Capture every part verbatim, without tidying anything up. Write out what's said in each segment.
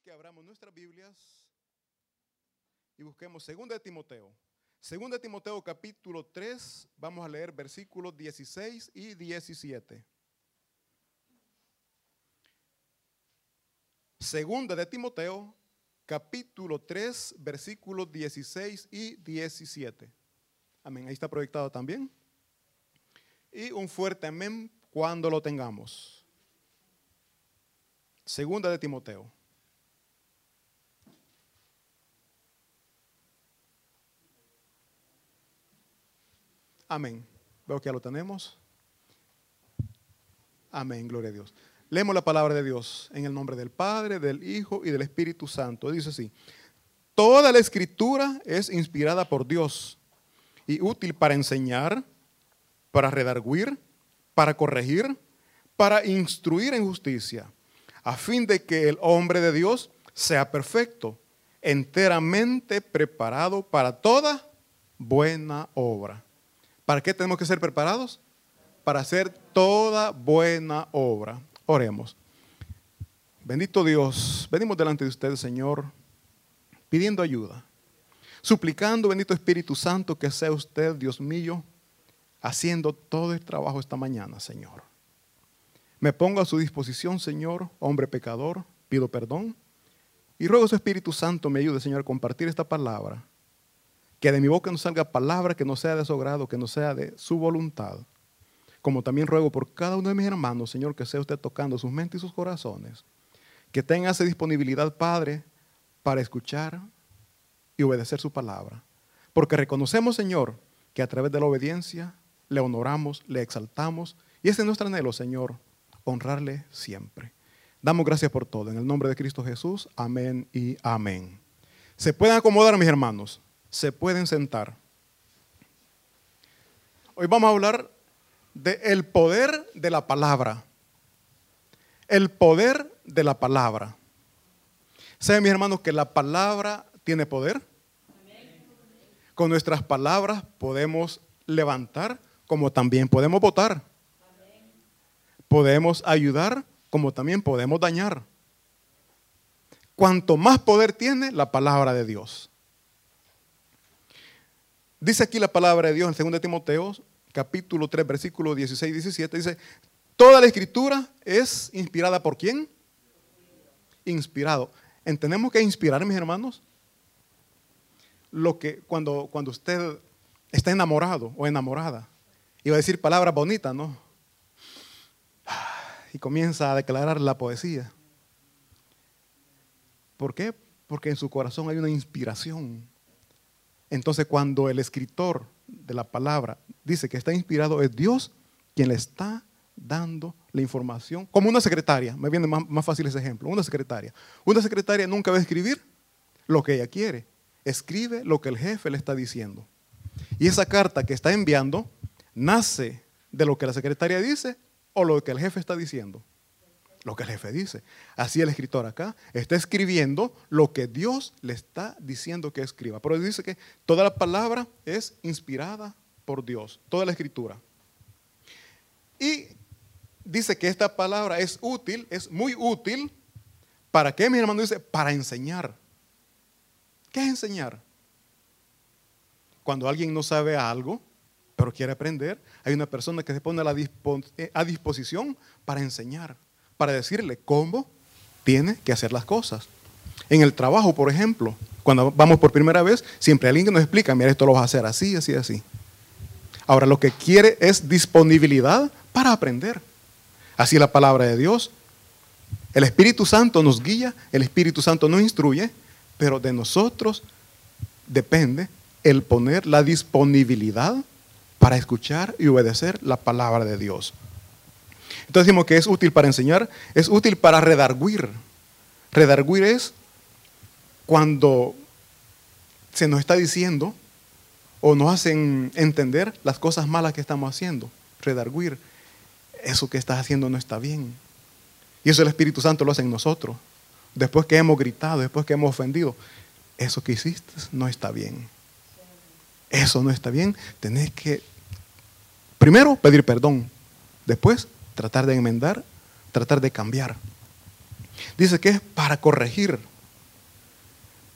que abramos nuestras Biblias y busquemos segunda de Timoteo. segunda de Timoteo capítulo tres, vamos a leer versículos dieciséis y diecisiete. segunda de Timoteo capítulo tres, versículos dieciséis y diecisiete. Amén, ahí está proyectado también. Y un fuerte amén cuando lo tengamos. Segunda de Timoteo. Amén. Veo que ya lo tenemos. Amén, gloria a Dios. Leemos la palabra de Dios en el nombre del Padre, del Hijo y del Espíritu Santo. Dice así: toda la escritura es inspirada por Dios y útil para enseñar, para redarguir, para corregir, para instruir en justicia, a fin de que el hombre de Dios sea perfecto, enteramente preparado para toda buena obra. ¿Para qué tenemos que ser preparados? Para hacer toda buena obra. Oremos. Bendito Dios, venimos delante de usted, Señor, pidiendo ayuda, suplicando, bendito Espíritu Santo, que sea usted, Dios mío, haciendo todo el trabajo esta mañana, Señor. Me pongo a su disposición, Señor, hombre pecador, pido perdón y ruego a su Espíritu Santo me ayude, Señor, a compartir esta palabra. Que de mi boca no salga palabra que no sea de su agrado, que no sea de su voluntad. Como también ruego por cada uno de mis hermanos, Señor, que sea usted tocando sus mentes y sus corazones. Que tenga esa disponibilidad, Padre, para escuchar y obedecer su palabra. Porque reconocemos, Señor, que a través de la obediencia le honoramos, le exaltamos. Y ese es nuestro anhelo, Señor, honrarle siempre. Damos gracias por todo. En el nombre de Cristo Jesús, amén y amén. ¿Se pueden acomodar, mis hermanos? Se pueden sentar. Hoy vamos a hablar del poder de la palabra. El poder de la palabra. ¿Saben, mis hermanos, que la palabra tiene poder? Amén. Con nuestras palabras podemos levantar, como también podemos botar. Amén. Podemos ayudar, como también podemos dañar. Cuanto más poder tiene la palabra de Dios. Dice aquí la palabra de Dios en segunda de Timoteo, capítulo tres, versículo dieciséis y diecisiete, dice: toda la escritura es inspirada ¿por quién? Inspirado. ¿Entendemos que inspirar, mis hermanos? Lo que cuando, cuando usted está enamorado o enamorada, iba a decir palabras bonitas, ¿no? Y comienza a declarar la poesía. ¿Por qué? Porque en su corazón hay una inspiración. Entonces, cuando el escritor de la palabra dice que está inspirado, es Dios quien le está dando la información. Como una secretaria, me viene más, más fácil ese ejemplo. Una secretaria. Una secretaria nunca va a escribir lo que ella quiere. Escribe lo que el jefe le está diciendo. Y esa carta que está enviando nace de lo que la secretaria dice o lo que el jefe está diciendo. Lo que el jefe dice. Así el escritor acá está escribiendo lo que Dios le está diciendo que escriba. Pero dice que toda la palabra es inspirada por Dios. Toda la escritura. Y dice que esta palabra es útil, es muy útil. ¿Para qué, mi hermano? Dice, para enseñar. ¿Qué es enseñar? Cuando alguien no sabe algo, pero quiere aprender, hay una persona que se pone a, la dispo- a disposición para enseñar. Para decirle cómo tiene que hacer las cosas. En el trabajo, por ejemplo, cuando vamos por primera vez, siempre hay alguien que nos explica: mira, esto lo vas a hacer así, así, así. Ahora, lo que quiere es disponibilidad para aprender. Así la palabra de Dios. El Espíritu Santo nos guía, el Espíritu Santo nos instruye, pero de nosotros depende el poner la disponibilidad para escuchar y obedecer la palabra de Dios. Entonces decimos que es útil para enseñar, es útil para redarguir. Redarguir es cuando se nos está diciendo o nos hacen entender las cosas malas que estamos haciendo. Redarguir, eso que estás haciendo no está bien. Y eso el Espíritu Santo lo hace en nosotros. Después que hemos gritado, después que hemos ofendido, eso que hiciste no está bien. Eso no está bien. Tenés que primero pedir perdón, después tratar de enmendar, tratar de cambiar. Dice que es para corregir.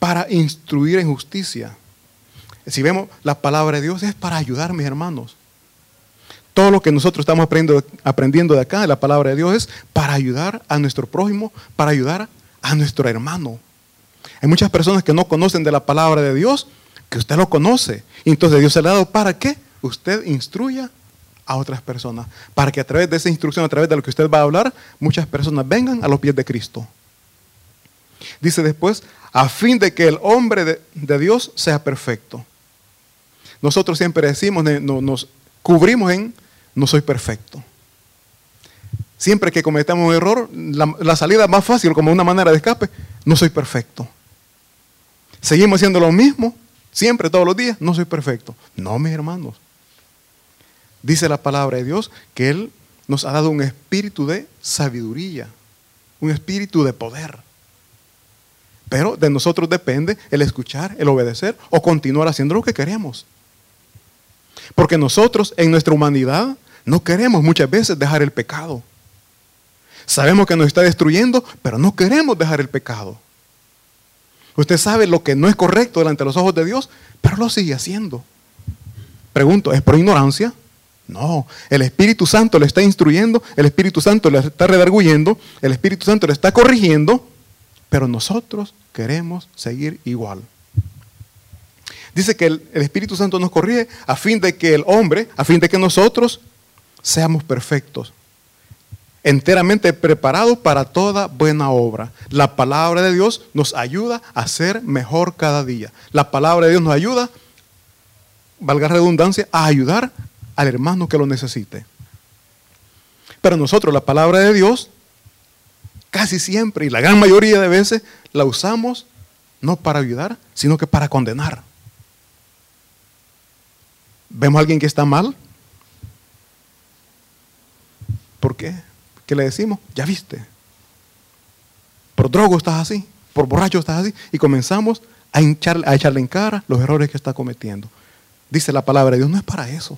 para instruir en justicia. Si vemos, la palabra de Dios es para ayudar, mis hermanos. Todo lo que nosotros estamos aprendiendo, aprendiendo de acá, de la palabra de Dios, es para ayudar a nuestro prójimo, para ayudar a nuestro hermano. Hay muchas personas que no conocen de la palabra de Dios, que usted lo conoce. Y entonces Dios se le ha dado para que usted instruya a otras personas. Para que a través de esa instrucción, a través de lo que usted va a hablar, muchas personas vengan a los pies de Cristo. Dice después, a fin de que el hombre de, de Dios sea perfecto. Nosotros siempre decimos, nos cubrimos en no soy perfecto. Siempre que cometamos un error, la, la salida más fácil, como una manera de escape, no soy perfecto. Seguimos haciendo lo mismo, siempre, todos los días, no soy perfecto. No, mis hermanos. Dice la palabra de Dios que Él nos ha dado un espíritu de sabiduría, un espíritu de poder. Pero de nosotros depende el escuchar, el obedecer o continuar haciendo lo que queremos. Porque nosotros en nuestra humanidad no queremos muchas veces dejar el pecado. Sabemos que nos está destruyendo, pero no queremos dejar el pecado. Usted sabe lo que no es correcto delante de los ojos de Dios, pero lo sigue haciendo. Pregunto, ¿es por ignorancia? No, el Espíritu Santo le está instruyendo, el Espíritu Santo le está redarguyendo, el Espíritu Santo le está corrigiendo, pero nosotros queremos seguir igual. Dice que el, el Espíritu Santo nos corrige a fin de que el hombre, a fin de que nosotros seamos perfectos, enteramente preparados para toda buena obra. La palabra de Dios nos ayuda a ser mejor cada día. La palabra de Dios nos ayuda, valga la redundancia, a ayudar al hermano que lo necesite. Pero nosotros la palabra de Dios casi siempre y la gran mayoría de veces la usamos no para ayudar, sino que para condenar. ¿Vemos a alguien que está mal? ¿Por qué? ¿Qué le decimos? Ya viste. Por drogo estás así, por borracho estás así. Y comenzamos a, hinchar, a echarle en cara los errores que está cometiendo. Dice la palabra de Dios, no es para eso.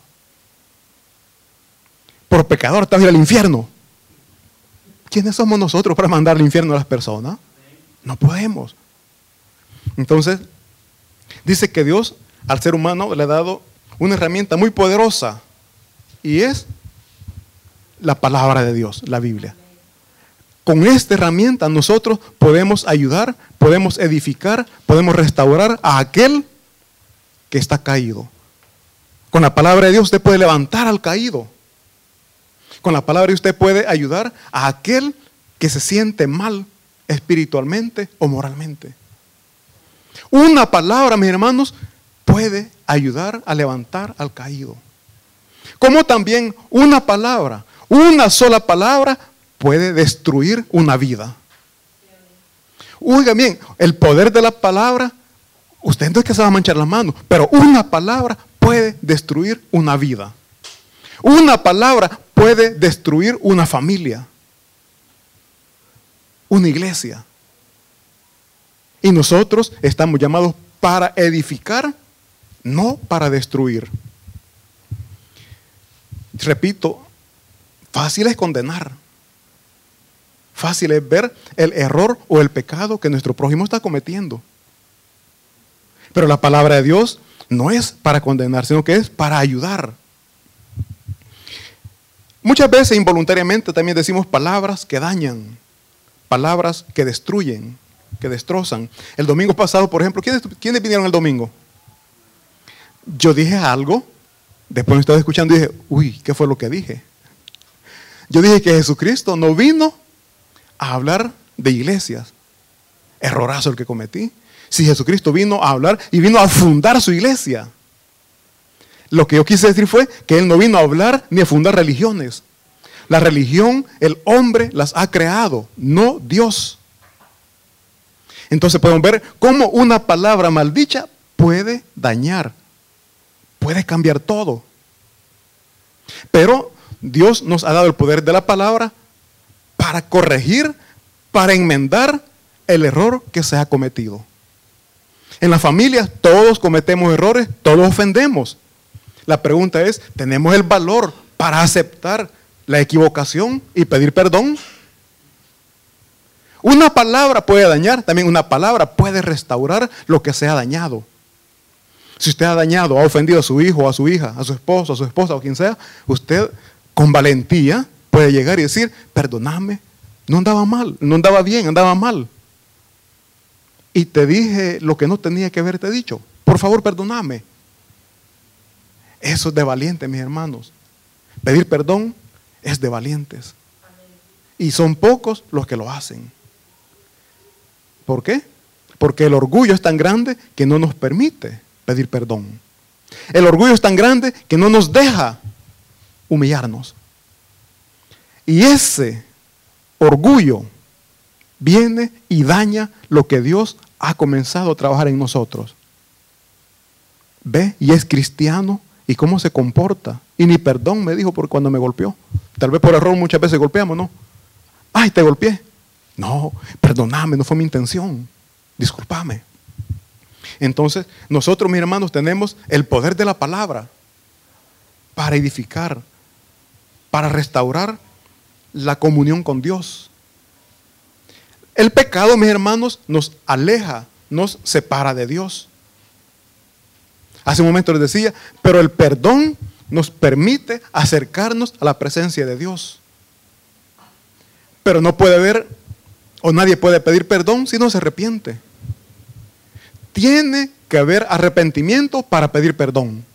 Por pecador te vas a ir al infierno. ¿Quiénes somos nosotros para mandar al infierno a las personas? No podemos. Entonces, dice que Dios al ser humano le ha dado una herramienta muy poderosa y es la palabra de Dios, la Biblia. Con esta herramienta nosotros podemos ayudar, podemos edificar, podemos restaurar a aquel que está caído. Con la palabra de Dios usted puede levantar al caído. Con la palabra de Dios usted puede ayudar a aquel que se siente mal espiritualmente o moralmente. Una palabra, mis hermanos, puede ayudar a levantar al caído. Como también una palabra, una sola palabra puede destruir una vida. Oiga bien, el poder de la palabra, usted no es que se va a manchar las manos, pero una palabra puede destruir una vida. Una palabra puede destruir una familia, una iglesia. Y nosotros estamos llamados para edificar, no para destruir. Repito, fácil es condenar. Fácil es ver el error o el pecado que nuestro prójimo está cometiendo. Pero la palabra de Dios no es para condenar, sino que es para ayudar. Muchas veces involuntariamente también decimos palabras que dañan, palabras que destruyen, que destrozan. El domingo pasado, por ejemplo, ¿quiénes, ¿quiénes vinieron el domingo? Yo dije algo, después me estaba escuchando y dije, uy, ¿qué fue lo que dije? Yo dije que Jesucristo no vino a hablar de iglesias. Errorazo el que cometí. Si Jesucristo vino a hablar y vino a fundar su iglesia. Lo que yo quise decir fue que Él no vino a hablar ni a fundar religiones. La religión, el hombre las ha creado, no Dios. Entonces podemos ver cómo una palabra maldicha puede dañar, puede cambiar todo. Pero Dios nos ha dado el poder de la palabra para corregir, para enmendar el error que se ha cometido. En las familias todos cometemos errores, todos ofendemos. La pregunta es, ¿tenemos el valor para aceptar la equivocación y pedir perdón? Una palabra puede dañar, también una palabra puede restaurar lo que se ha dañado. Si usted ha dañado, ha ofendido a su hijo, a su hija, a su esposo, a su esposa o quien sea, usted con valentía puede llegar y decir, perdóname, no andaba mal, no andaba bien, andaba mal. Y te dije lo que no tenía que haberte dicho. Por favor, perdóname. Eso es de valientes, mis hermanos. Pedir perdón es de valientes. Y son pocos los que lo hacen. ¿Por qué? Porque el orgullo es tan grande que no nos permite pedir perdón. El orgullo es tan grande que no nos deja humillarnos. Y ese orgullo viene y daña lo que Dios ha comenzado a trabajar en nosotros. Ve, y es cristiano, y cómo se comporta. Y ni perdón me dijo por cuando me golpeó. Tal vez por error muchas veces golpeamos, ¿no? Ay, te golpeé. No, perdóname, no fue mi intención. Discúlpame. Entonces, nosotros, mis hermanos, tenemos el poder de la palabra para edificar, para restaurar la comunión con Dios. El pecado, mis hermanos, nos aleja, nos separa de Dios. Hace un momento les decía, pero el perdón nos permite acercarnos a la presencia de Dios. Pero no puede haber, o nadie puede pedir perdón si no se arrepiente. Tiene que haber arrepentimiento para pedir perdón.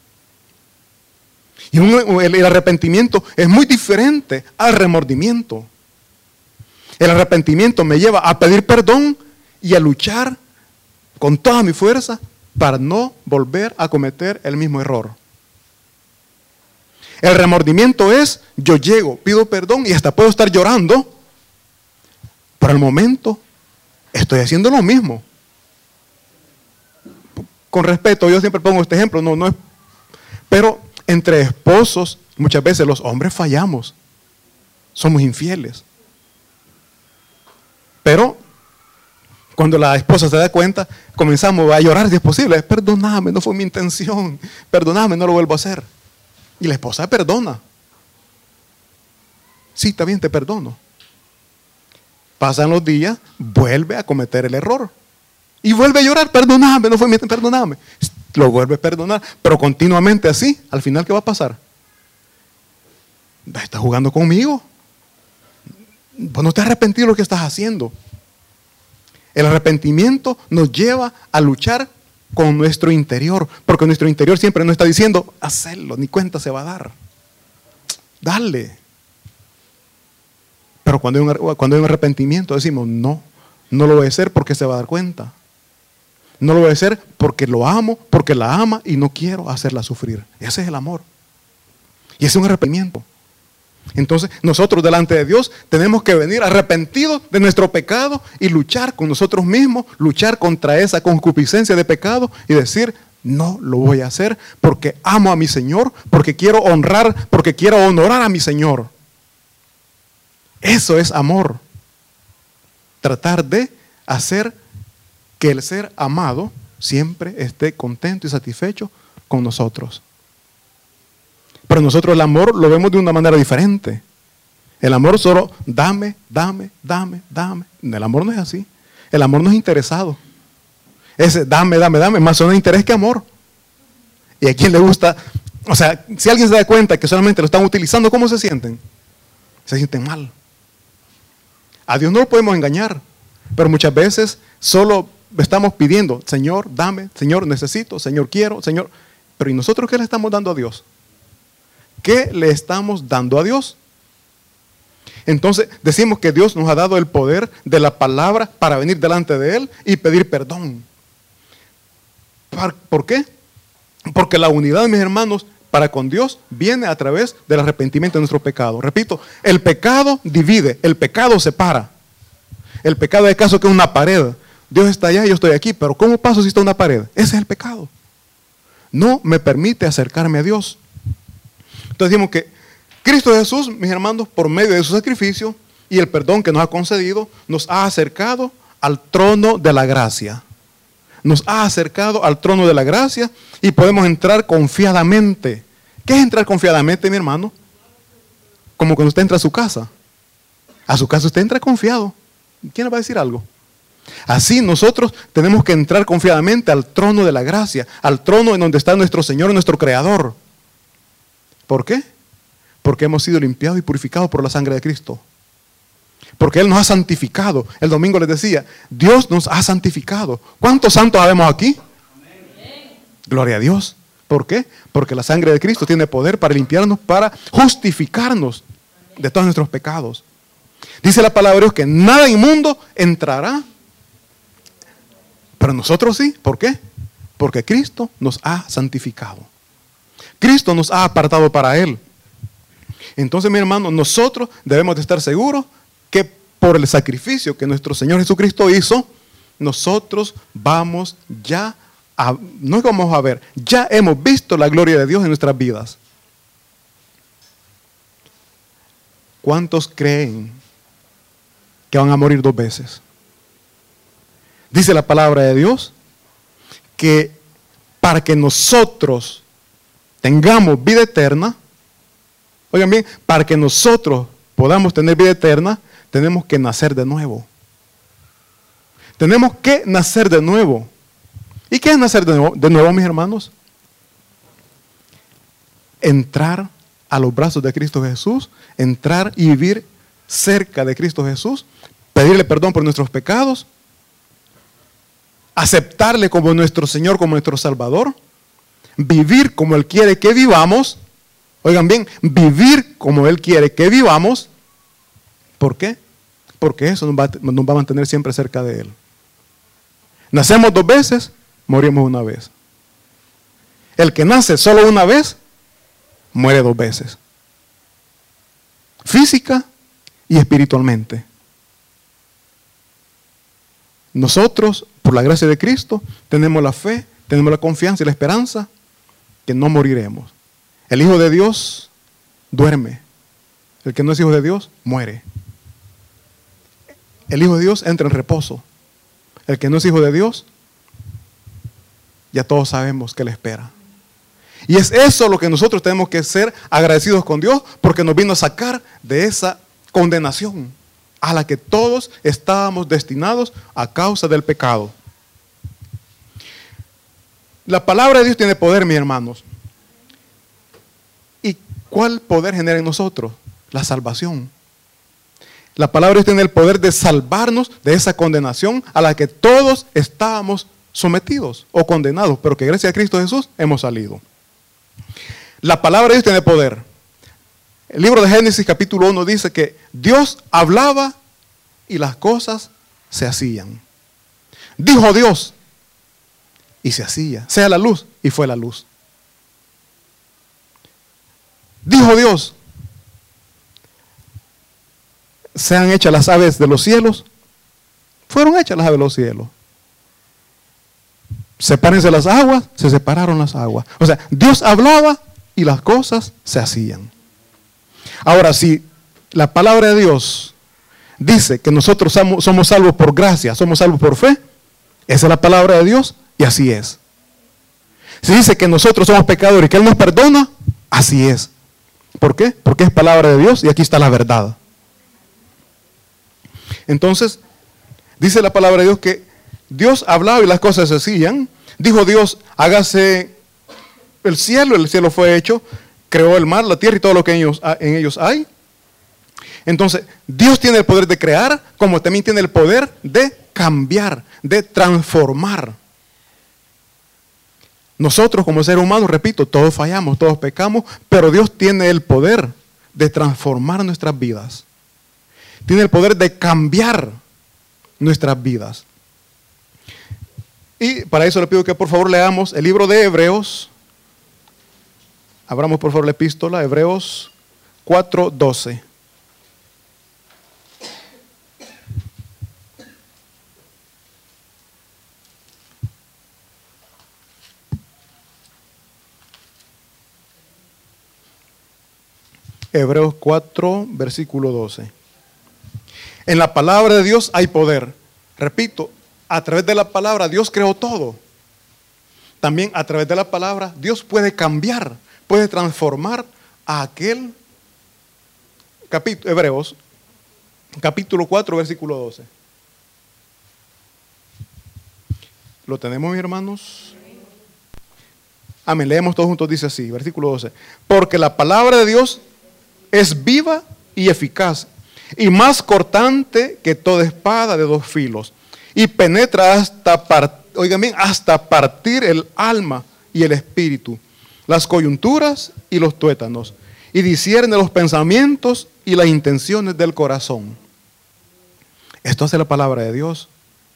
Y un, el, el arrepentimiento es muy diferente al remordimiento. El arrepentimiento me lleva a pedir perdón y a luchar con toda mi fuerza para no volver a cometer el mismo error. El remordimiento es, yo llego, pido perdón y hasta puedo estar llorando, pero al momento estoy haciendo lo mismo. Con respeto, yo siempre pongo este ejemplo, no, no es, pero entre esposos muchas veces los hombres fallamos, somos infieles. Pero cuando la esposa se da cuenta, comenzamos a llorar si es posible. Perdóname, no fue mi intención. Perdóname, no lo vuelvo a hacer. Y la esposa perdona. Sí, está bien, te perdono. Pasan los días, vuelve a cometer el error. Y vuelve a llorar, perdóname, no fue mi intención, perdóname. Lo vuelve a perdonar, pero continuamente así. Al final, ¿qué va a pasar? Estás jugando conmigo. Pues no te has arrepentido de lo que estás haciendo. El arrepentimiento nos lleva a luchar con nuestro interior, porque nuestro interior siempre nos está diciendo, hacerlo, ni cuenta se va a dar. Dale. Pero cuando hay un, cuando hay un arrepentimiento decimos, no, no lo voy a hacer porque se va a dar cuenta. No lo voy a hacer porque lo amo, porque la ama y no quiero hacerla sufrir. Ese es el amor. Y ese es un arrepentimiento. Entonces nosotros delante de Dios tenemos que venir arrepentidos de nuestro pecado y luchar con nosotros mismos, luchar contra esa concupiscencia de pecado y decir, no lo voy a hacer porque amo a mi Señor, porque quiero honrar, porque quiero honorar a mi Señor. Eso es amor. Tratar de hacer que el ser amado siempre esté contento y satisfecho con nosotros. Pero nosotros el amor lo vemos de una manera diferente. El amor solo dame, dame, dame, dame. El amor no es así. El amor no es interesado. Ese dame, dame, dame, más son interés que amor. Y a quien le gusta, o sea, si alguien se da cuenta que solamente lo están utilizando, ¿cómo se sienten? Se sienten mal. A Dios no lo podemos engañar, pero muchas veces solo estamos pidiendo, Señor, dame, Señor, necesito, Señor, quiero, Señor. Pero ¿y nosotros qué le estamos dando a Dios? ¿Qué le estamos dando a Dios? Entonces decimos que Dios nos ha dado el poder de la palabra para venir delante de Él y pedir perdón. ¿Por qué? Porque la unidad, mis hermanos, para con Dios viene a través del arrepentimiento de nuestro pecado. Repito, el pecado divide, el pecado separa. El pecado es caso que es una pared. Dios está allá y yo estoy aquí, pero ¿cómo paso si está una pared? Ese es el pecado. No me permite acercarme a Dios. Entonces decimos que Cristo Jesús, mis hermanos, por medio de su sacrificio y el perdón que nos ha concedido, nos ha acercado al trono de la gracia. Nos ha acercado al trono de la gracia y podemos entrar confiadamente. ¿Qué es entrar confiadamente, mi hermano? Como cuando usted entra a su casa. A su casa usted entra confiado. ¿Quién le va a decir algo? Así nosotros tenemos que entrar confiadamente al trono de la gracia, al trono en donde está nuestro Señor, nuestro Creador. ¿Por qué? Porque hemos sido limpiados y purificados por la sangre de Cristo. Porque Él nos ha santificado. El domingo les decía, Dios nos ha santificado. ¿Cuántos santos habemos aquí? Amén. Gloria a Dios. ¿Por qué? Porque la sangre de Cristo tiene poder para limpiarnos, para justificarnos de todos nuestros pecados. Dice la palabra de Dios que nada inmundo entrará. Pero nosotros sí. ¿Por qué? Porque Cristo nos ha santificado. Cristo nos ha apartado para Él. Entonces, mi hermano, nosotros debemos de estar seguros que por el sacrificio que nuestro Señor Jesucristo hizo, nosotros vamos ya a, no vamos a ver, ya hemos visto la gloria de Dios en nuestras vidas. ¿Cuántos creen que van a morir dos veces? Dice la palabra de Dios que para que nosotros tengamos vida eterna, oigan bien, para que nosotros podamos tener vida eterna, tenemos que nacer de nuevo. Tenemos que nacer de nuevo. ¿Y qué es nacer de nuevo, de nuevo, mis hermanos? Entrar a los brazos de Cristo Jesús, entrar y vivir cerca de Cristo Jesús, pedirle perdón por nuestros pecados, aceptarle como nuestro Señor, como nuestro Salvador, vivir como Él quiere que vivamos. Oigan bien, vivir como Él quiere que vivamos. ¿Por qué? Porque eso nos va, nos va a mantener siempre cerca de Él. Nacemos dos veces, morimos una vez. El que nace solo una vez, muere dos veces. Física y espiritualmente. Nosotros, por la gracia de Cristo, tenemos la fe, tenemos la confianza y la esperanza que no moriremos. El Hijo de Dios duerme. El que no es hijo de Dios, muere. El Hijo de Dios entra en reposo. El que no es hijo de Dios, ya todos sabemos que le espera. Y es eso lo que nosotros tenemos que ser agradecidos con Dios, porque nos vino a sacar de esa condenación a la que todos estábamos destinados a causa del pecado. La palabra de Dios tiene poder, mis hermanos. ¿Y cuál poder genera en nosotros? La salvación. La palabra de Dios tiene el poder de salvarnos de esa condenación a la que todos estábamos sometidos o condenados, pero que gracias a Cristo Jesús hemos salido. La palabra de Dios tiene poder. El libro de Génesis capítulo uno dice que Dios hablaba y las cosas se hacían. Dijo Dios y se hacía. Sea la luz y fue la luz. Dijo Dios, sean hechas las aves de los cielos. Fueron hechas las aves de los cielos. Sepárense las aguas, se separaron las aguas. O sea, Dios hablaba y las cosas se hacían. Ahora, si la palabra de Dios dice que nosotros somos, somos salvos por gracia, somos salvos por fe, esa es la palabra de Dios y así es. Si dice que nosotros somos pecadores y que Él nos perdona, así es. ¿Por qué? Porque es palabra de Dios y aquí está la verdad. Entonces, dice la palabra de Dios que Dios hablaba y las cosas se hacían. Dijo Dios, hágase el cielo, el cielo fue hecho, creó el mar, la tierra y todo lo que en ellos, en ellos hay. Entonces, Dios tiene el poder de crear, como también tiene el poder de cambiar, de transformar. Nosotros como seres humanos, repito, todos fallamos, todos pecamos, pero Dios tiene el poder de transformar nuestras vidas. Tiene el poder de cambiar nuestras vidas. Y para eso le pido que por favor leamos el libro de Hebreos. Abramos por favor la epístola, Hebreos cuatro doce. Hebreos cuatro, versículo doce. En la palabra de Dios hay poder. Repito, a través de la palabra Dios creó todo. También a través de la palabra Dios puede cambiar, puede transformar a aquel. Capítulo, Hebreos, capítulo cuatro, versículo doce. ¿Lo tenemos, mis hermanos? Amén. Leemos todos juntos, dice así, versículo doce. Porque la palabra de Dios es viva y eficaz, y más cortante que toda espada de dos filos, y penetra hasta, par, oigan bien, hasta partir el alma y el espíritu, las coyunturas y los tuétanos, y discierne los pensamientos y las intenciones del corazón. Esto hace la palabra de Dios.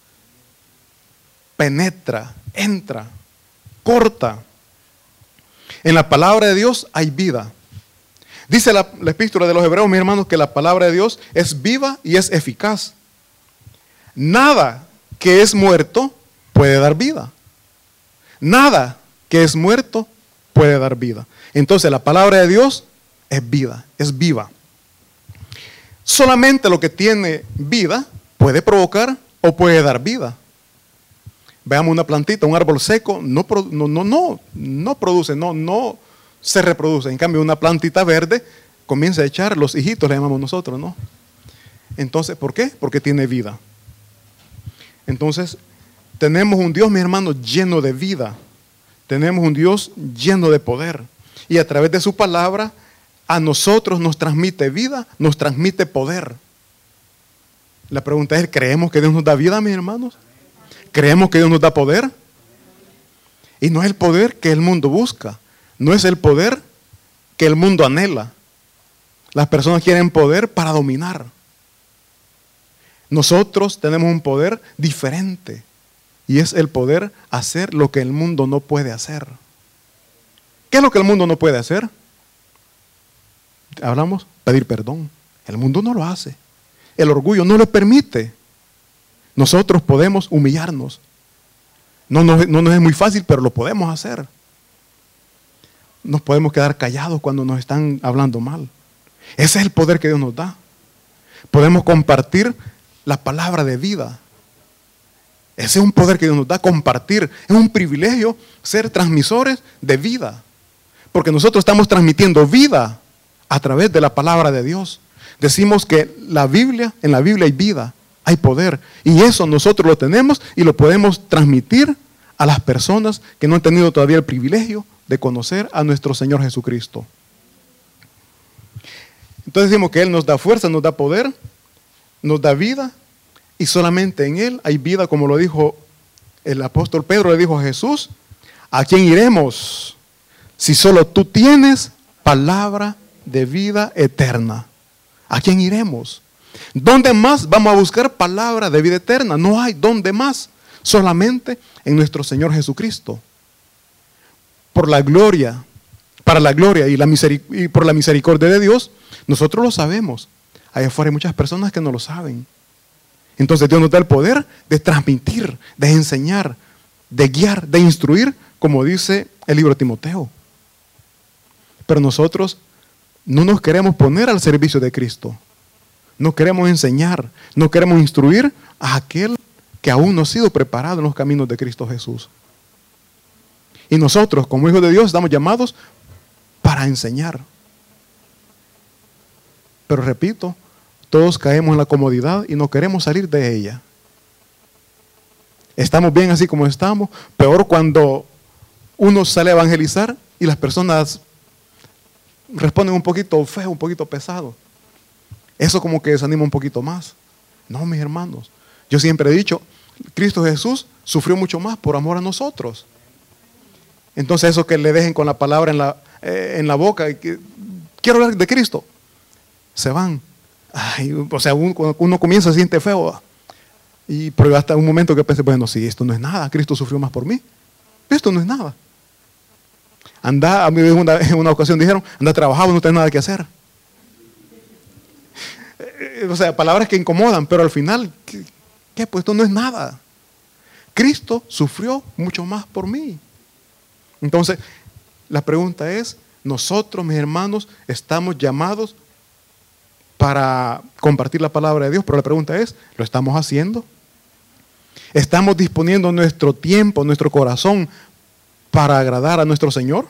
Penetra, entra, corta. En la palabra de Dios hay vida. Dice la, la epístola de los Hebreos, mis hermanos, que la palabra de Dios es viva y es eficaz. Nada que es muerto puede dar vida. Nada que es muerto puede dar vida. Entonces la palabra de Dios es vida, es viva. Solamente lo que tiene vida puede provocar o puede dar vida. Veamos una plantita, un árbol seco, no, no, no, no, no produce, no, no se reproduce. En cambio, una plantita verde comienza a echar los hijitos, le llamamos nosotros, ¿no? Entonces, ¿por qué? Porque tiene vida. Entonces, tenemos un Dios, mis hermanos, lleno de vida. Tenemos un Dios lleno de poder. Y a través de su palabra, a nosotros nos transmite vida, nos transmite poder. La pregunta es, ¿creemos que Dios nos da vida, mis hermanos? ¿Creemos que Dios nos da poder? Y no es el poder que el mundo busca. No es el poder que el mundo anhela. Las personas quieren poder para dominar. Nosotros tenemos un poder diferente. Y es el poder hacer lo que el mundo no puede hacer. ¿Qué es lo que el mundo no puede hacer? Hablamos, pedir perdón. El mundo no lo hace. El orgullo no lo permite. Nosotros podemos humillarnos. No, no, no nos es muy fácil, pero lo podemos hacer. Nos podemos quedar callados cuando nos están hablando mal. Ese es el poder que Dios nos da. Podemos compartir la palabra de vida. Ese es un poder que Dios nos da, compartir. Es un privilegio ser transmisores de vida. Porque nosotros estamos transmitiendo vida a través de la palabra de Dios. Decimos que la Biblia, en la Biblia hay vida, hay poder. Y eso nosotros lo tenemos y lo podemos transmitir a las personas que no han tenido todavía el privilegio de conocer a nuestro Señor Jesucristo. Entonces decimos que Él nos da fuerza, nos da poder, nos da vida, y solamente en Él hay vida, como lo dijo el apóstol Pedro, le dijo a Jesús: ¿a quién iremos si solo tú tienes palabra de vida eterna? ¿A quién iremos? ¿Dónde más vamos a buscar palabra de vida eterna? No hay dónde más, solamente en nuestro Señor Jesucristo. Por la gloria, para la gloria y, la miseric- y por la misericordia de Dios, nosotros lo sabemos. Allá afuera hay muchas personas que no lo saben. Entonces Dios nos da el poder de transmitir, de enseñar, de guiar, de instruir, como dice el libro de Timoteo. Pero nosotros no nos queremos poner al servicio de Cristo. No queremos enseñar, no queremos instruir a aquel que aún no ha sido preparado en los caminos de Cristo Jesús. Y nosotros, como hijos de Dios, estamos llamados para enseñar. Pero repito, todos caemos en la comodidad y no queremos salir de ella. Estamos bien así como estamos. Peor cuando uno sale a evangelizar y las personas responden un poquito feo, un poquito pesado. Eso como que desanima un poquito más. No, mis hermanos. Yo siempre he dicho, Cristo Jesús sufrió mucho más por amor a nosotros. Entonces eso que le dejen con la palabra en la, eh, en la boca, que, quiero hablar de Cristo, se van. Ay, o sea, uno, cuando uno comienza se siente feo. Y pero hasta un momento que pensé, bueno, sí, esto no es nada, Cristo sufrió más por mí. Esto no es nada. Anda, a mí en una, en una ocasión dijeron, anda a trabajar, no tienes nada que hacer. O sea, palabras que incomodan, pero al final, ¿qué? ¿qué? Pues esto no es nada. Cristo sufrió mucho más por mí. Entonces, la pregunta es, nosotros, mis hermanos, estamos llamados para compartir la palabra de Dios, pero la pregunta es, ¿lo estamos haciendo? ¿Estamos disponiendo nuestro tiempo, nuestro corazón para agradar a nuestro Señor?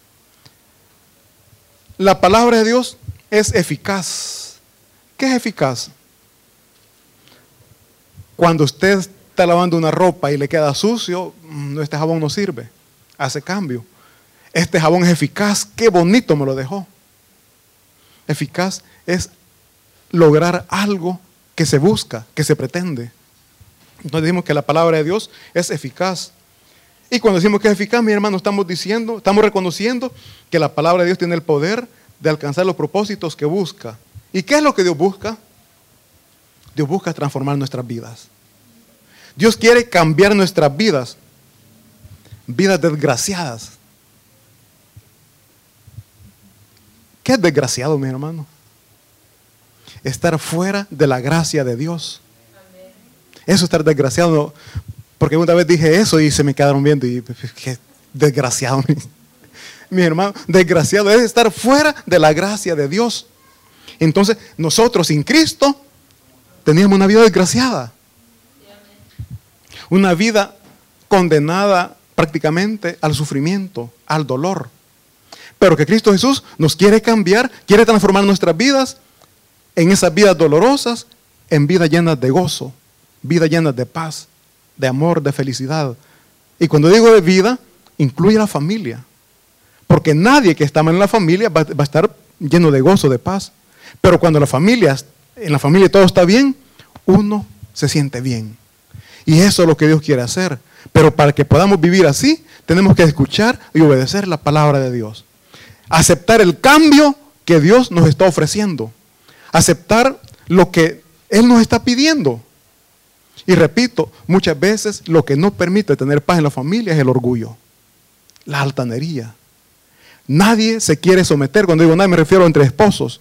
La palabra de Dios es eficaz. ¿Qué es eficaz? Cuando usted está lavando una ropa y le queda sucio, no, este jabón no sirve, hace cambio. Este jabón es eficaz, qué bonito me lo dejó. Eficaz es lograr algo que se busca, que se pretende. Entonces decimos que la palabra de Dios es eficaz. Y cuando decimos que es eficaz, mi hermano, estamos diciendo, estamos reconociendo que la palabra de Dios tiene el poder de alcanzar los propósitos que busca. ¿Y qué es lo que Dios busca? Dios busca transformar nuestras vidas. Dios quiere cambiar nuestras vidas, vidas desgraciadas. ¿Qué es desgraciado, mi hermano? Estar fuera de la gracia de Dios. Eso es estar desgraciado. Porque una vez dije eso y se me quedaron viendo y qué desgraciado. Mi hermano, desgraciado es estar fuera de la gracia de Dios. Entonces, nosotros sin Cristo teníamos una vida desgraciada. Una vida condenada prácticamente al sufrimiento, al dolor. Pero que Cristo Jesús nos quiere cambiar, quiere transformar nuestras vidas en esas vidas dolorosas, en vidas llenas de gozo, vidas llenas de paz, de amor, de felicidad. Y cuando digo de vida, incluye a la familia. Porque nadie que está en la familia va, va a estar lleno de gozo, de paz. Pero cuando la familia, en la familia todo está bien, uno se siente bien. Y eso es lo que Dios quiere hacer. Pero para que podamos vivir así, tenemos que escuchar y obedecer la palabra de Dios. Aceptar el cambio que Dios nos está ofreciendo. Aceptar lo que Él nos está pidiendo. Y repito, muchas veces lo que no permite tener paz en la familia es el orgullo, la altanería. Nadie se quiere someter. Cuando digo nadie me refiero entre esposos.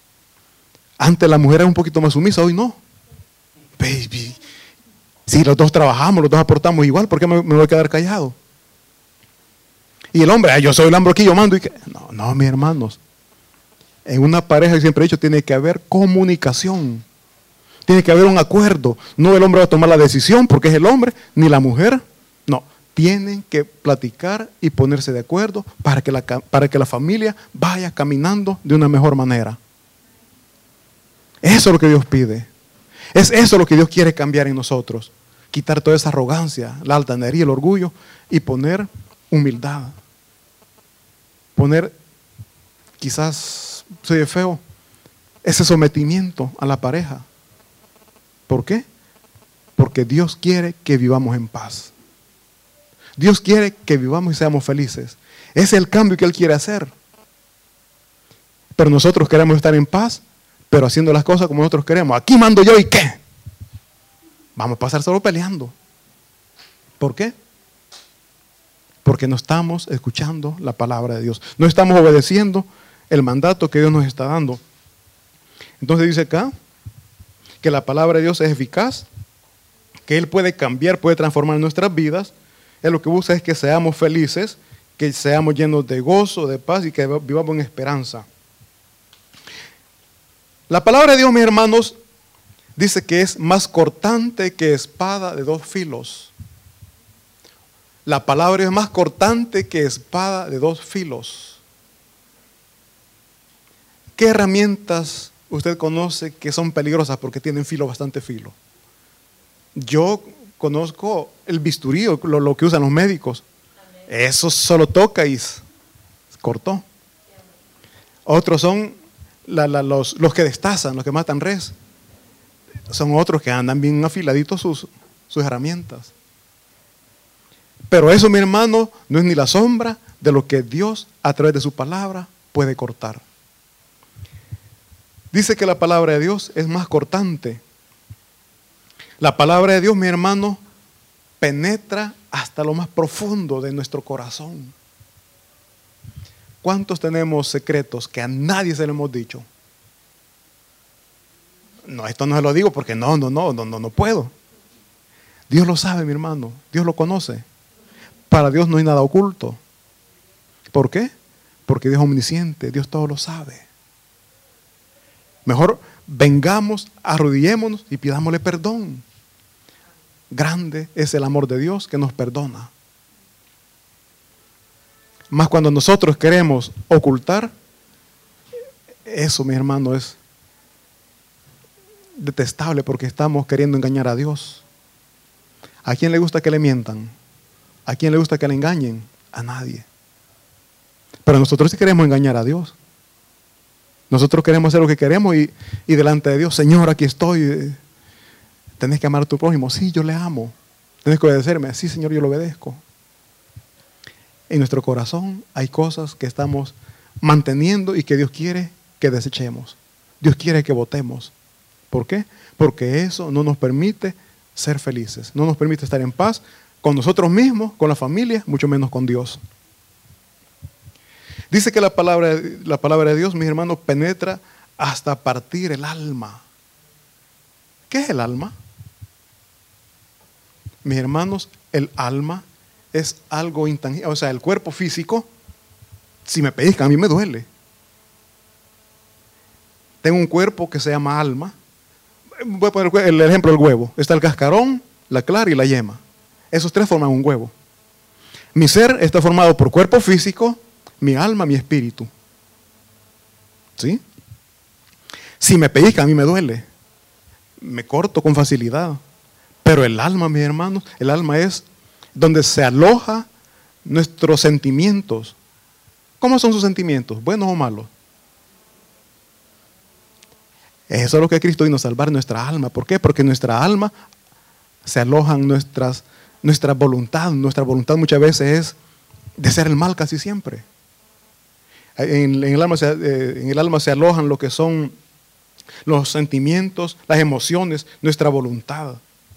Antes la mujer era un poquito más sumisa, hoy no. Baby, si los dos trabajamos, los dos aportamos igual, ¿por qué me, me voy a quedar callado? Y el hombre, yo soy el hombre aquí, yo mando. Y que, no, no, mis hermanos. En una pareja, siempre he dicho, tiene que haber comunicación. Tiene que haber un acuerdo. No el hombre va a tomar la decisión porque es el hombre, ni la mujer. No, tienen que platicar y ponerse de acuerdo para que la, para que la familia vaya caminando de una mejor manera. Eso es lo que Dios pide. Es eso lo que Dios quiere cambiar en nosotros. Quitar toda esa arrogancia, la altanería, el orgullo y poner humildad. Poner, quizás soy feo, ese sometimiento a la pareja. ¿Por qué? Porque Dios quiere que vivamos en paz. Dios quiere que vivamos y seamos felices. Ese es el cambio que Él quiere hacer. Pero nosotros queremos estar en paz, pero haciendo las cosas como nosotros queremos. Aquí mando yo y ¿qué? Vamos a pasar solo peleando. ¿Por qué? Porque no estamos escuchando la palabra de Dios. No estamos obedeciendo el mandato que Dios nos está dando. Entonces dice acá que la palabra de Dios es eficaz, que Él puede cambiar, puede transformar nuestras vidas. Él lo que busca es que seamos felices, que seamos llenos de gozo, de paz y que vivamos en esperanza. La palabra de Dios, mis hermanos, dice que es más cortante que espada de dos filos. La palabra es más cortante que espada de dos filos. ¿Qué herramientas usted conoce que son peligrosas porque tienen filo, bastante filo? Yo conozco el bisturí, lo, lo que usan los médicos. Eso solo toca y se cortó. Otros son la, la, los, los que destazan, los que matan res. Son otros que andan bien afiladitos sus, sus herramientas. Pero eso, mi hermano, no es ni la sombra de lo que Dios a través de su palabra puede cortar. Dice que la palabra de Dios es más cortante. La palabra de Dios, mi hermano, penetra hasta lo más profundo de nuestro corazón. ¿Cuántos tenemos secretos que a nadie se lo hemos dicho? No, esto no se lo digo porque no, no, no, no, no, no puedo. Dios lo sabe, mi hermano. Dios lo conoce. Para Dios no hay nada oculto. ¿Por qué? Porque Dios es omnisciente. Dios todo lo sabe. Mejor vengamos, arrodillémonos y pidámosle perdón. Grande es el amor de Dios que nos perdona. Más cuando nosotros queremos ocultar, eso, mi hermano, es detestable porque estamos queriendo engañar a Dios. ¿A quién le gusta que le mientan? ¿A quién le gusta que le engañen? A nadie. Pero nosotros sí queremos engañar a Dios. Nosotros queremos hacer lo que queremos y, y delante de Dios, Señor, aquí estoy. Tenés que amar a tu prójimo. Sí, yo le amo. Tenés que obedecerme. Sí, Señor, yo lo obedezco. En nuestro corazón hay cosas que estamos manteniendo y que Dios quiere que desechemos. Dios quiere que votemos. ¿Por qué? Porque eso no nos permite ser felices. No nos permite estar en paz con nosotros mismos, con la familia, mucho menos con Dios. Dice que la palabra, la palabra de Dios, mis hermanos, penetra hasta partir el alma. ¿Qué es el alma? Mis hermanos, el alma es algo intangible. O sea, el cuerpo físico, si me pellizcan, a mí me duele. Tengo un cuerpo que se llama alma. Voy a poner el ejemplo del huevo. Está el cascarón, la clara y la yema. Esos tres forman un huevo. Mi ser está formado por cuerpo físico, mi alma, mi espíritu. ¿Sí? Si me pellizca, a mí me duele. Me corto con facilidad. Pero el alma, mis hermanos, el alma es donde se aloja nuestros sentimientos. ¿Cómo son sus sentimientos? ¿Buenos o malos? Eso es lo que Cristo vino a salvar, nuestra alma. ¿Por qué? Porque nuestra alma se alojan nuestras, nuestra voluntad. Nuestra voluntad muchas veces es de hacer el mal casi siempre. En, en, el alma se, eh, en el alma se alojan lo que son los sentimientos, las emociones, nuestra voluntad.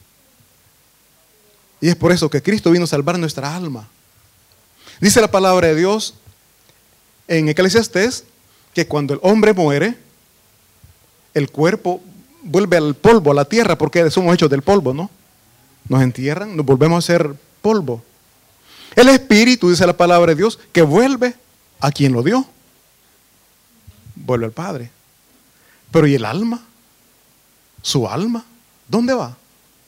Y es por eso que Cristo vino a salvar nuestra alma. Dice la palabra de Dios en Eclesiastés que cuando el hombre muere, el cuerpo vuelve al polvo, a la tierra, porque somos hechos del polvo, ¿no? Nos entierran, nos volvemos a ser polvo. El espíritu, dice la palabra de Dios, que vuelve a quien lo dio. Vuelve al Padre. Pero ¿y el alma? ¿Su alma? ¿Dónde va?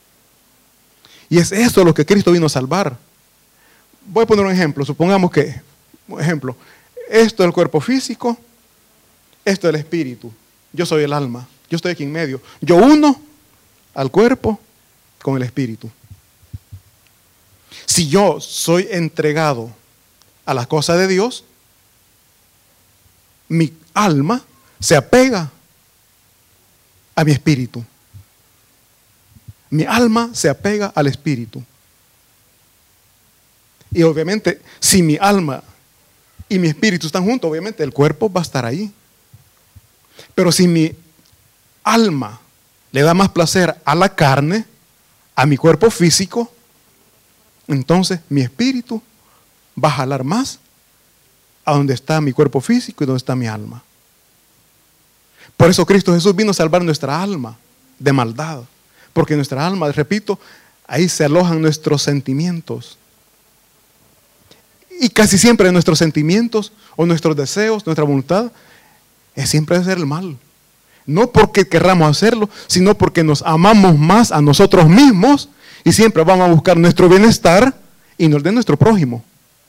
Y es eso lo que Cristo vino a salvar. Voy a poner un ejemplo. Supongamos que, un ejemplo, esto es el cuerpo físico, esto es el espíritu. Yo soy el alma, yo estoy aquí en medio. Yo uno al cuerpo con el espíritu. Si yo soy entregado a las cosas de Dios, mi alma se apega a mi espíritu. Mi alma se apega al espíritu. Y obviamente, si mi alma y mi espíritu están juntos, obviamente el cuerpo va a estar ahí. Pero si mi alma le da más placer a la carne, a mi cuerpo físico, entonces mi espíritu va a jalar más a donde está mi cuerpo físico y donde está mi alma. Por eso Cristo Jesús vino a salvar nuestra alma de maldad. Porque nuestra alma, repito, ahí se alojan nuestros sentimientos. Y casi siempre nuestros sentimientos o nuestros deseos, nuestra voluntad, es siempre hacer el mal. No porque querramos hacerlo, sino porque nos amamos más a nosotros mismos y siempre vamos a buscar nuestro bienestar y no el de nuestro prójimo.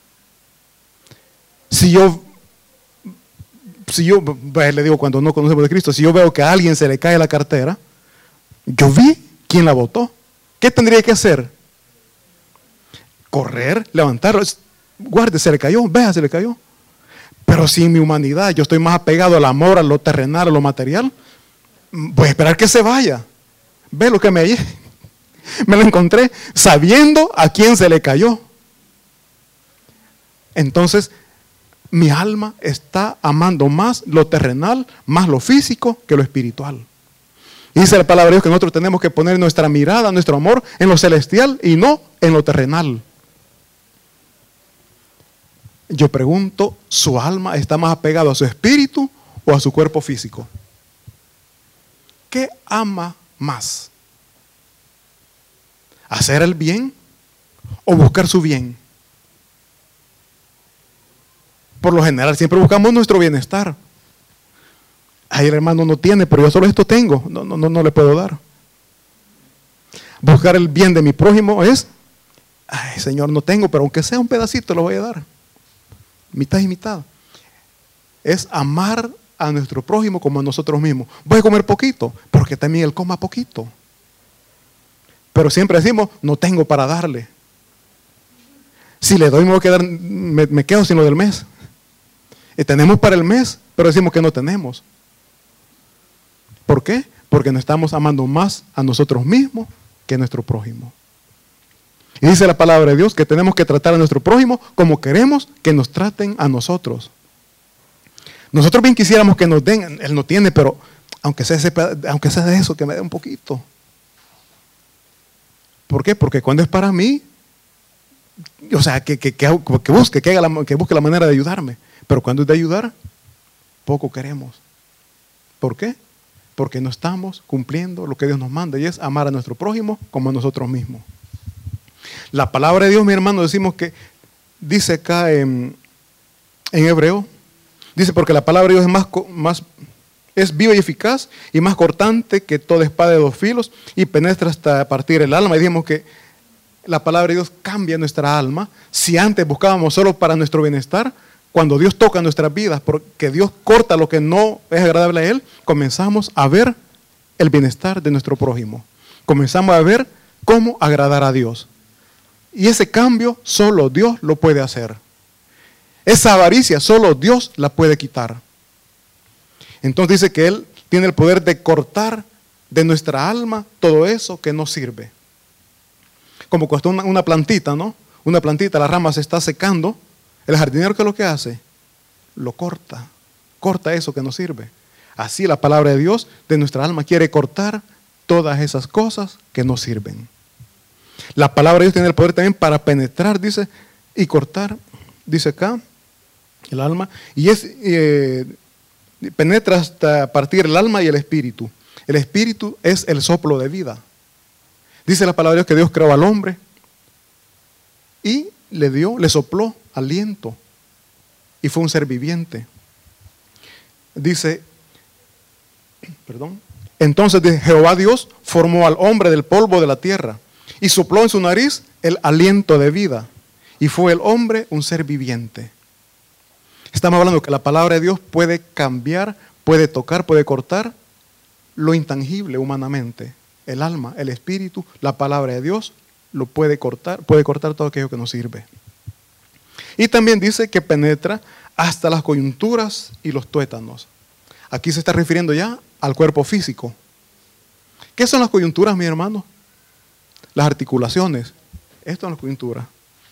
Si yo, si yo, le digo cuando no conocemos de Cristo, si yo veo que a alguien se le cae la cartera, yo vi quién la botó. ¿Qué tendría que hacer? Correr, levantarlo. Guarde, se le cayó, vea, se le cayó. Pero si en mi humanidad yo estoy más apegado al amor, a lo terrenal, a lo material, voy a esperar que se vaya. Ve lo que me me lo encontré sabiendo a quién se le cayó. Entonces, mi alma está amando más lo terrenal, más lo físico que lo espiritual. Y dice la palabra de Dios que nosotros tenemos que poner nuestra mirada, nuestro amor en lo celestial y no en lo terrenal. Yo pregunto, ¿su alma está más apegado a su espíritu o a su cuerpo físico? ¿Qué ama más? ¿Hacer el bien o buscar su bien? Por lo general siempre buscamos nuestro bienestar. Ay, el hermano no tiene, pero yo solo esto tengo. No, no, no, no le puedo dar. Buscar el bien de mi prójimo es, ay, Señor, no tengo, pero aunque sea un pedacito lo voy a dar. Mitad y mitad. Es amar a nuestro prójimo como a nosotros mismos. Voy a comer poquito, porque también él coma poquito. Pero siempre decimos, no tengo para darle. Si le doy me, voy a quedar, me, me quedo sin lo del mes. Y tenemos para el mes, pero decimos que no tenemos. ¿Por qué? Porque nos estamos amando más a nosotros mismos que a nuestro prójimo. Y dice la palabra de Dios que tenemos que tratar a nuestro prójimo como queremos que nos traten a nosotros. Nosotros bien quisiéramos que nos den, él no tiene, pero aunque sea, ese, aunque sea de eso, que me dé un poquito. ¿Por qué? Porque cuando es para mí, o sea, que, que, que, que busque, que, haga la, que busque la manera de ayudarme. Pero cuando es de ayudar, poco queremos. ¿Por qué? Porque no estamos cumpliendo lo que Dios nos manda, y es amar a nuestro prójimo como a nosotros mismos. La palabra de Dios, mi hermano, decimos que, dice acá en, en hebreo, dice, porque la palabra de Dios es más, más es viva y eficaz y más cortante que toda espada de dos filos y penetra hasta partir el alma. Y dijimos que la palabra de Dios cambia nuestra alma. Si antes buscábamos solo para nuestro bienestar, cuando Dios toca nuestras vidas, porque Dios corta lo que no es agradable a Él, comenzamos a ver el bienestar de nuestro prójimo. Comenzamos a ver cómo agradar a Dios. Y ese cambio solo Dios lo puede hacer. Esa avaricia solo Dios la puede quitar. Entonces dice que Él tiene el poder de cortar de nuestra alma todo eso que no sirve. Como cuesta una, una plantita, ¿no? Una plantita, la rama se está secando. El jardinero, ¿qué es lo que hace? Lo corta. Corta eso que no sirve. Así la palabra de Dios de nuestra alma quiere cortar todas esas cosas que no sirven. La palabra de Dios tiene el poder también para penetrar, dice, y cortar, dice acá, el alma. Y es, eh, penetra hasta partir el alma y el espíritu. El espíritu es el soplo de vida. Dice la palabra de Dios que Dios creó al hombre y le dio, le sopló aliento y fue un ser viviente. Dice, perdón, entonces Jehová Dios formó al hombre del polvo de la tierra y sopló en su nariz el aliento de vida y fue el hombre un ser viviente. Estamos hablando que la palabra de Dios puede cambiar, puede tocar, puede cortar lo intangible humanamente. El alma, el espíritu, la palabra de Dios lo puede cortar, puede cortar todo aquello que nos sirve. Y también dice que penetra hasta las coyunturas y los tuétanos. Aquí se está refiriendo ya al cuerpo físico. ¿Qué son las coyunturas, mi hermano? Las articulaciones. Esto son las coyunturas.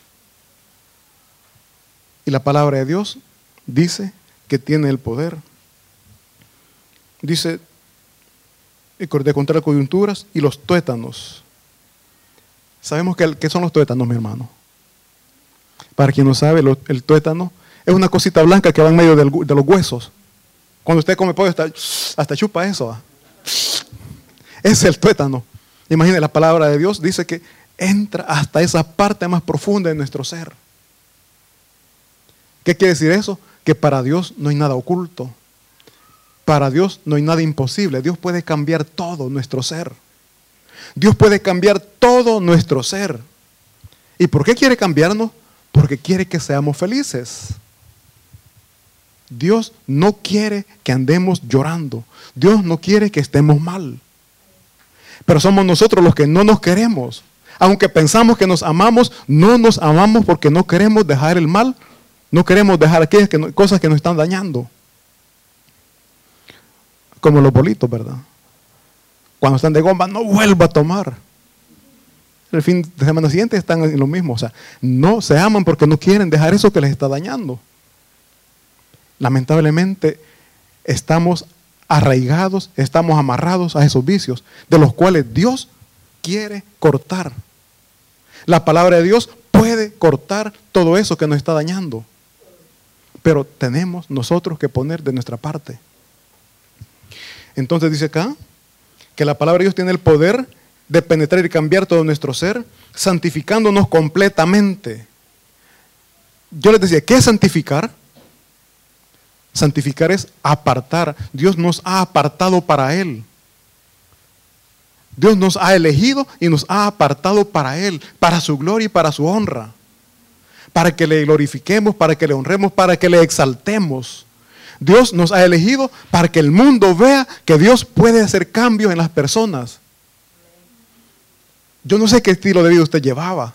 Y la palabra de Dios dice que tiene el poder. Dice de contra las coyunturas y los tuétanos. Sabemos que, ¿qué son los tuétanos, mi hermano? Para quien no sabe, lo, el tuétano es una cosita blanca que va en medio del, de los huesos. Cuando usted come pollo, hasta, hasta chupa eso. ¿Ah? Es el tuétano. Imagine, la palabra de Dios dice que entra hasta esa parte más profunda de nuestro ser. ¿Qué quiere decir eso? Que para Dios no hay nada oculto. Para Dios no hay nada imposible. Dios puede cambiar todo nuestro ser. Dios puede cambiar todo nuestro ser. ¿Y por qué quiere cambiarnos? Porque quiere que seamos felices. Dios no quiere que andemos llorando. Dios no quiere que estemos mal. Pero somos nosotros los que no nos queremos. Aunque pensamos que nos amamos, no nos amamos porque no queremos dejar el mal. No queremos dejar aquellas que no, cosas que nos están dañando. Como los bolitos, ¿verdad? Cuando están de goma, no vuelvo a tomar. El fin de semana siguiente están en lo mismo. O sea, no se aman porque no quieren dejar eso que les está dañando. Lamentablemente, estamos arraigados, estamos amarrados a esos vicios, de los cuales Dios quiere cortar. La palabra de Dios puede cortar todo eso que nos está dañando. Pero tenemos nosotros que poner de nuestra parte. Entonces dice acá que la palabra de Dios tiene el poder de penetrar y cambiar todo nuestro ser, santificándonos completamente. Yo les decía, ¿qué es santificar? Santificar es apartar. Dios nos ha apartado para Él. Dios nos ha elegido y nos ha apartado para Él, para su gloria y para su honra. Para que le glorifiquemos, para que le honremos, para que le exaltemos. Dios nos ha elegido para que el mundo vea que Dios puede hacer cambios en las personas. Yo no sé qué estilo de vida usted llevaba.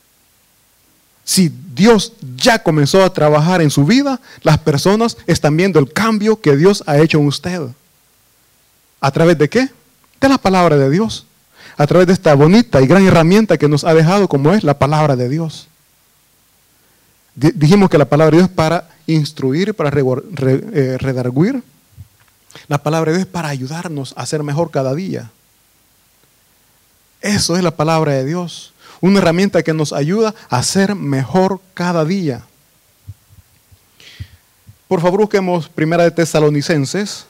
Si Dios ya comenzó a trabajar en su vida, las personas están viendo el cambio que Dios ha hecho en usted. ¿A través de qué? De la palabra de Dios. A través de esta bonita y gran herramienta que nos ha dejado, como es la palabra de Dios. Dijimos que la palabra de Dios es para instruir, para redarguir. La palabra de Dios es para ayudarnos a ser mejor cada día. Eso es la palabra de Dios. Una herramienta que nos ayuda a ser mejor cada día. Por favor, busquemos Primera de Tesalonicenses.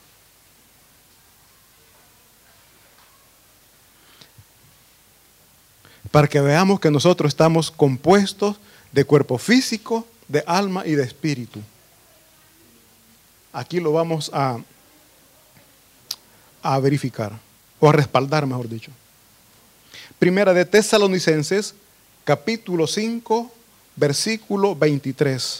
Para que veamos que nosotros estamos compuestos de cuerpo físico, de alma y de espíritu. Aquí lo vamos a, a verificar, o a respaldar, mejor dicho. Primera de Tesalonicenses, capítulo cinco, versículo veintitrés.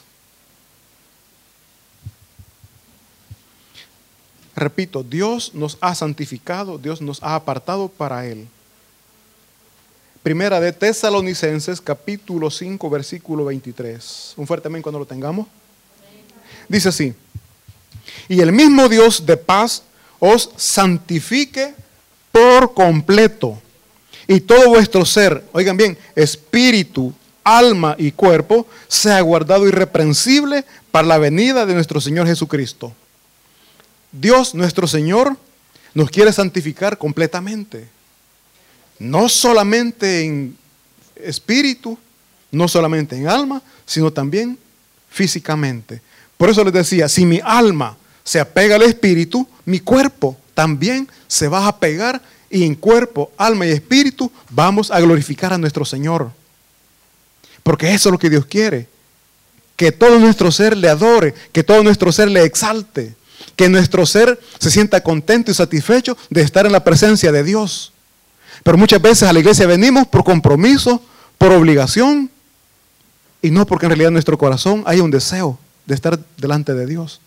Repito, Dios nos ha santificado, Dios nos ha apartado para Él. Primera de Tesalonicenses, capítulo cinco, versículo veintitrés. Un fuerte amén cuando lo tengamos. Dice así: y el mismo Dios de paz os santifique por completo, y todo vuestro ser, oigan bien, espíritu, alma y cuerpo, sea guardado irreprensible para la venida de nuestro Señor Jesucristo. Dios, nuestro Señor, nos quiere santificar completamente. No solamente en espíritu, no solamente en alma, sino también físicamente. Por eso les decía, si mi alma se apega al espíritu, mi cuerpo también se va a apegar, y en cuerpo, alma y espíritu vamos a glorificar a nuestro Señor. Porque eso es lo que Dios quiere. Que todo nuestro ser le adore, que todo nuestro ser le exalte, que nuestro ser se sienta contento y satisfecho de estar en la presencia de Dios. Pero muchas veces a la iglesia venimos por compromiso, por obligación, y no porque en realidad en nuestro corazón hay un deseo de estar delante de Dios.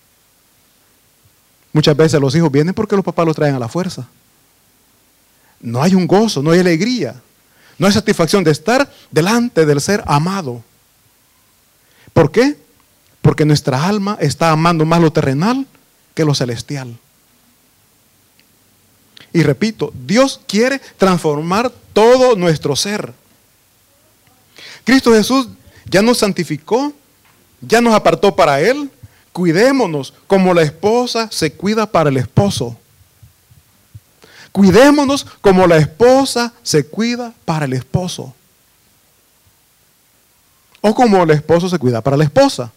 Muchas veces los hijos vienen porque los papás los traen a la fuerza. No hay un gozo, no hay alegría, no hay satisfacción de estar delante del ser amado. ¿Por qué? Porque nuestra alma está amando más lo terrenal que lo celestial. Y repito, Dios quiere transformar todo nuestro ser. Cristo Jesús ya nos santificó, ya nos apartó para Él. Cuidémonos como la esposa se cuida para el esposo. Cuidémonos como la esposa se cuida para el esposo. O como el esposo se cuida para la esposa.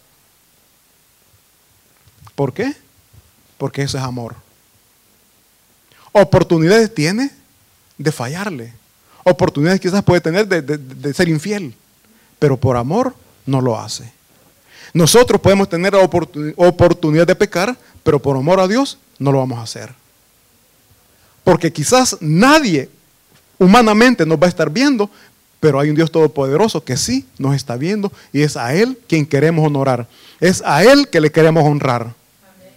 ¿Por qué? Porque eso es amor. Oportunidades tiene de fallarle. Oportunidades quizás puede tener de, de, de ser infiel. Pero por amor no lo hace. Nosotros podemos tener la oportun, oportunidad de pecar, pero por amor a Dios no lo vamos a hacer. Porque quizás nadie humanamente nos va a estar viendo, pero hay un Dios todopoderoso que sí nos está viendo, y es a Él quien queremos honorar. Es a Él que le queremos honrar. Amén.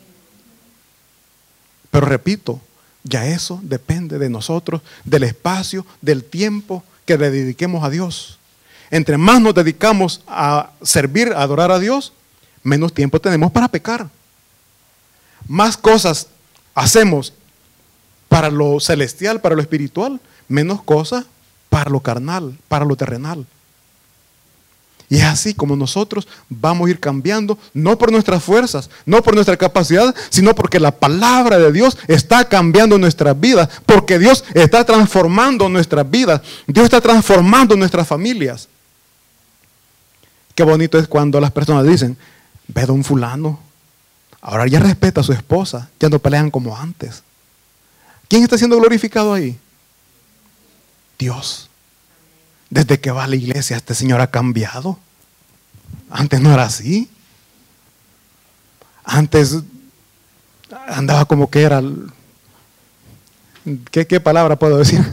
Pero repito, ya eso depende de nosotros, del espacio, del tiempo que le dediquemos a Dios. Entre más nos dedicamos a servir, a adorar a Dios, menos tiempo tenemos para pecar. Más cosas hacemos para lo celestial, para lo espiritual, menos cosas para lo carnal, para lo terrenal. Y es así como nosotros vamos a ir cambiando, no por nuestras fuerzas, no por nuestra capacidad, sino porque la palabra de Dios está cambiando nuestras vidas, porque Dios está transformando nuestras vidas, Dios está transformando nuestras familias. Qué bonito es cuando las personas dicen: ve don fulano, ahora ya respeta a su esposa, ya no pelean como antes. ¿Quién está siendo glorificado ahí? Dios. Desde que va a la iglesia, este señor ha cambiado. Antes no era así. Antes andaba como que era. ¿Qué, qué palabra puedo decir?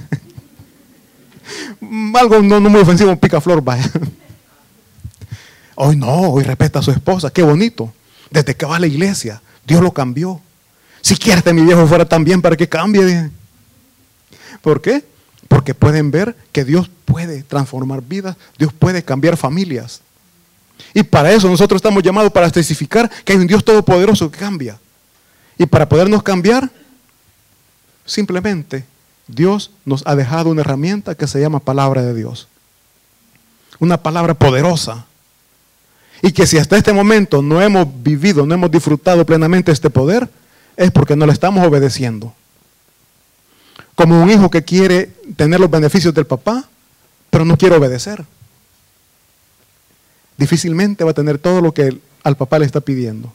Algo no, no muy ofensivo, un picaflor, vaya. Hoy no, hoy respeta a su esposa, qué bonito. Desde que va a la iglesia, Dios lo cambió. Si quiere que mi viejo fuera tan bien, para que cambie. ¿Por qué? Porque pueden ver que Dios puede transformar vidas, Dios puede cambiar familias. Y para eso nosotros estamos llamados para testificar que hay un Dios todopoderoso que cambia. Y para podernos cambiar, simplemente Dios nos ha dejado una herramienta que se llama palabra de Dios. Una palabra poderosa. Y que si hasta este momento no hemos vivido, no hemos disfrutado plenamente este poder, es porque no le estamos obedeciendo. Como un hijo que quiere tener los beneficios del papá, pero no quiere obedecer. Difícilmente va a tener todo lo que el, al papá le está pidiendo.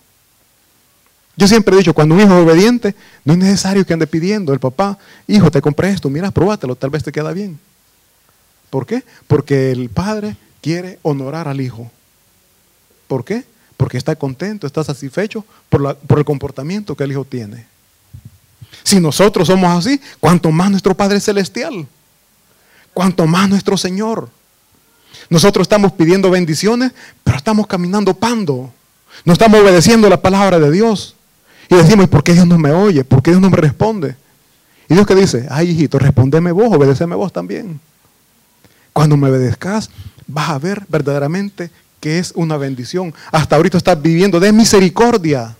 Yo siempre he dicho, cuando un hijo es obediente, no es necesario que ande pidiendo el papá, hijo, te compré esto, mira, pruébatelo, tal vez te queda bien. ¿Por qué? Porque el padre quiere honorar al hijo. ¿Por qué? Porque está contento, está satisfecho por, la, por el comportamiento que el hijo tiene. Si nosotros somos así, cuanto más nuestro Padre Celestial, cuanto más nuestro Señor. Nosotros estamos pidiendo bendiciones, pero estamos caminando pando. No estamos obedeciendo la palabra de Dios. Y decimos, ¿por qué Dios no me oye? ¿Por qué Dios no me responde? Y Dios que dice, ay hijito, respondeme vos, obedeceme vos también. Cuando me obedezcas, vas a ver verdaderamente que es una bendición. Hasta ahorita estás viviendo de misericordia.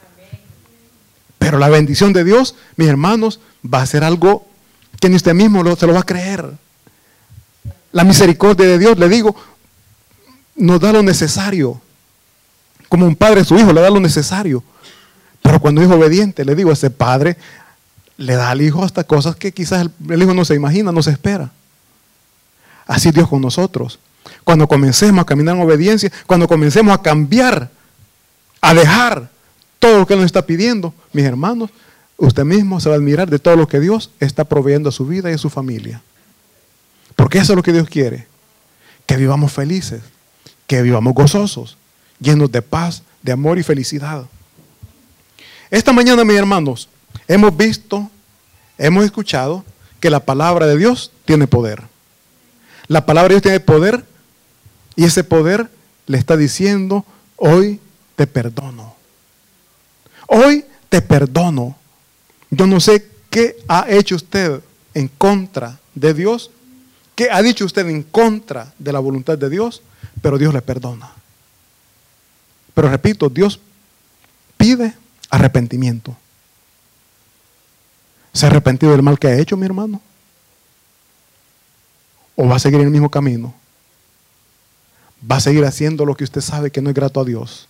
Pero la bendición de Dios, mis hermanos, va a ser algo que ni usted mismo lo, se lo va a creer. La misericordia de Dios, le digo, nos da lo necesario. Como un padre a su hijo le da lo necesario. Pero cuando es obediente, le digo, ese padre le da al hijo hasta cosas que quizás el, el hijo no se imagina, no se espera. Así Dios con nosotros. Cuando comencemos a caminar en obediencia, cuando comencemos a cambiar, a dejar todo lo que Él nos está pidiendo, mis hermanos, usted mismo se va a admirar de todo lo que Dios está proveyendo a su vida y a su familia. Porque eso es lo que Dios quiere. Que vivamos felices, que vivamos gozosos, llenos de paz, de amor y felicidad. Esta mañana, mis hermanos, hemos visto, hemos escuchado que la palabra de Dios tiene poder. La palabra de Dios tiene poder y ese poder le está diciendo, hoy te perdono. Hoy te perdono. Yo no sé qué ha hecho usted en contra de Dios, qué ha dicho usted en contra de la voluntad de Dios, pero Dios le perdona. Pero repito, Dios pide arrepentimiento. ¿Se ha arrepentido del mal que ha hecho, mi hermano? ¿O va a seguir en el mismo camino? ¿Va a seguir haciendo lo que usted sabe que no es grato a Dios?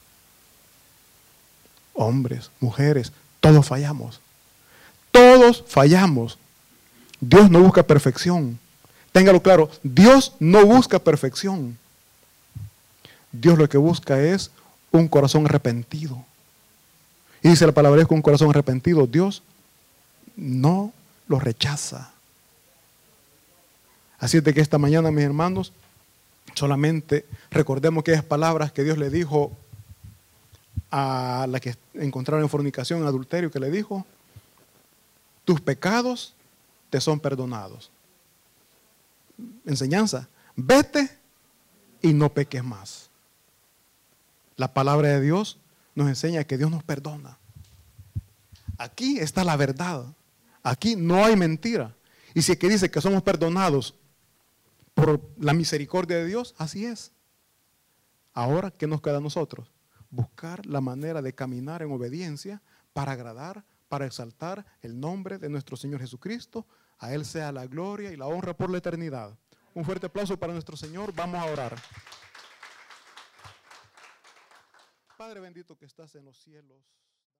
Hombres, mujeres, todos fallamos. Todos fallamos. Dios no busca perfección. Téngalo claro, Dios no busca perfección. Dios lo que busca es un corazón arrepentido. Y dice la palabra, es que un corazón arrepentido, Dios no lo rechaza. Así es de que esta mañana, mis hermanos, solamente recordemos aquellas palabras que Dios le dijo a la que encontraron en fornicación, en adulterio, que le dijo, tus pecados te son perdonados. Enseñanza, vete y no peques más. La palabra de Dios nos enseña que Dios nos perdona. Aquí está la verdad. Aquí no hay mentira. Y si es que dice que somos perdonados por la misericordia de Dios, así es. Ahora, ¿qué nos queda a nosotros? Buscar la manera de caminar en obediencia para agradar, para exaltar el nombre de nuestro Señor Jesucristo. A Él sea la gloria y la honra por la eternidad. Un fuerte aplauso para nuestro Señor. Vamos a orar. Padre bendito que estás en los cielos.